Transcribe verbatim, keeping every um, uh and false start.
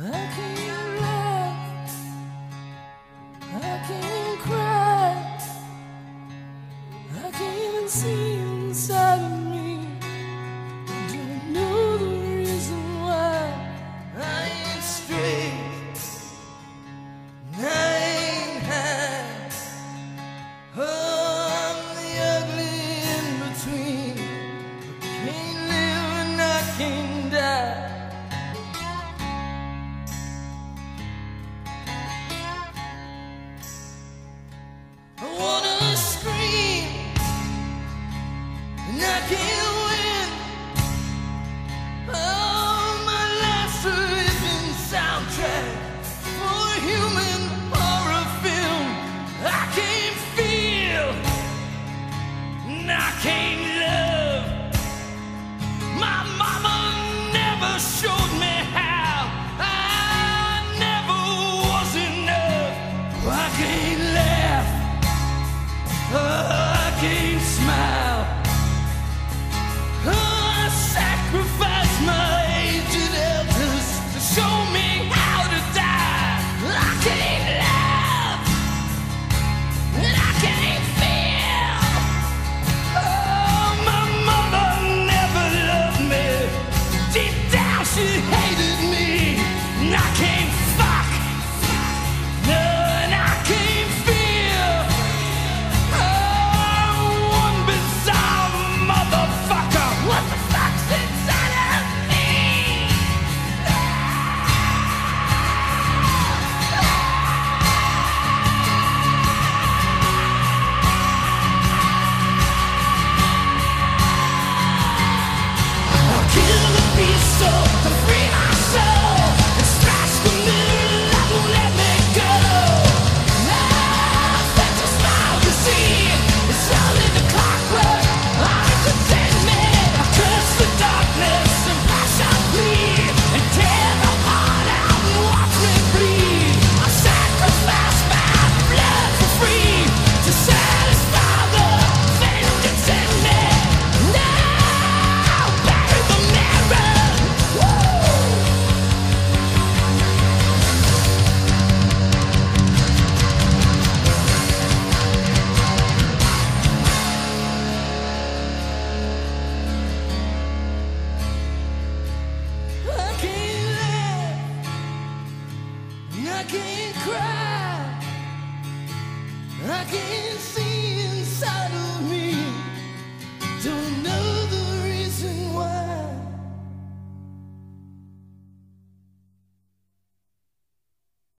I can't laugh, I can't cry, I can't even see inside of me. Don't know the reason why I ain't straight, I ain't high. Oh, I'm the ugly in between. I can't live and I can't die. I wanna scream and I can't